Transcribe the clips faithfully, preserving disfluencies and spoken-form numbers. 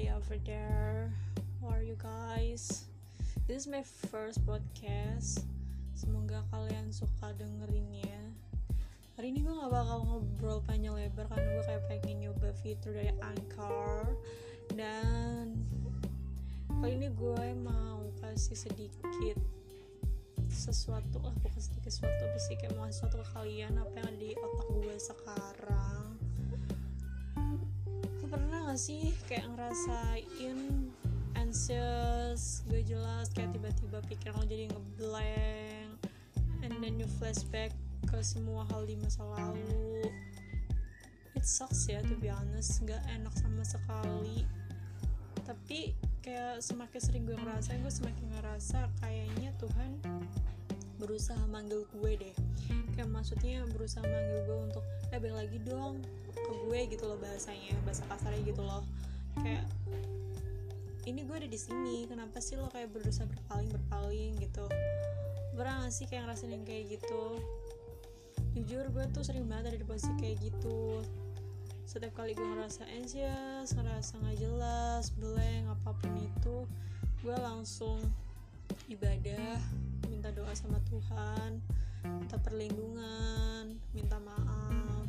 everybody over there. How are you guys? This is my first podcast. Semoga kalian suka dengerinnya. Hari ini gue gak bakal ngobrol panjang lebar karena gue kayak pengen nyoba fitur dari Anchor. Dan kali ini gue mau kasih sedikit sesuatu lah, bukan sedikit sesuatu, pasti kayak mau sesuatu ke kalian apa yang ada di otak gue sekarang. Lu pernah gak sih kayak ngerasain anxious, gak jelas, kayak tiba-tiba pikiran lo jadi ngeblank, and then you flashback ke semua hal di masa lalu. It sucks ya, to be honest, gak enak sama sekali. Tapi kayak semakin sering gue ngerasain, gue semakin ngerasa kayaknya Tuhan berusaha manggil gue deh. Kayak maksudnya berusaha manggil gue untuk eh balik lagi dong ke gue gitu loh, bahasanya, bahasa kasarnya gitu loh. Kayak ini gue ada di sini, kenapa sih lo kayak berusaha berpaling berpaling gitu? Pernah gak sih kayak ngerasain yang kayak gitu? Jujur gue tuh sering banget ada di posisi kayak gitu. Setiap kali gue ngerasa anxious, ngerasa gak jelas, blank, apapun itu, gue langsung ibadah, minta doa sama Tuhan, minta perlindungan, minta maaf.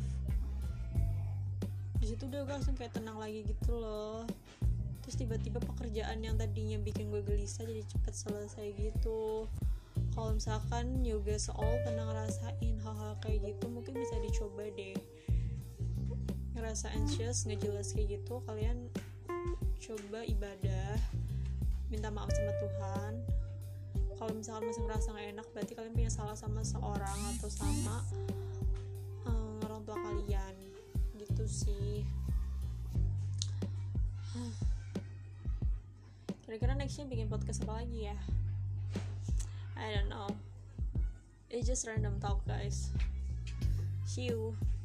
Di situ udah gue langsung kayak tenang lagi gitu loh. Terus tiba-tiba pekerjaan yang tadinya bikin gue gelisah jadi cepet selesai gitu. Kalau misalkan yoga soal pernah ngerasain hal-hal kayak gitu, mungkin bisa dicoba deh. Ngerasa anxious, nggak jelas kayak gitu, kalian coba ibadah, minta maaf sama Tuhan. Kalau misalkan masih ngerasa nggak enak, berarti kalian punya salah sama seorang atau sama um, orang tua kalian, gitu sih. Kira-kira nextnya bikin podcast apa lagi ya? I don't know. It's just random talk, guys. See you.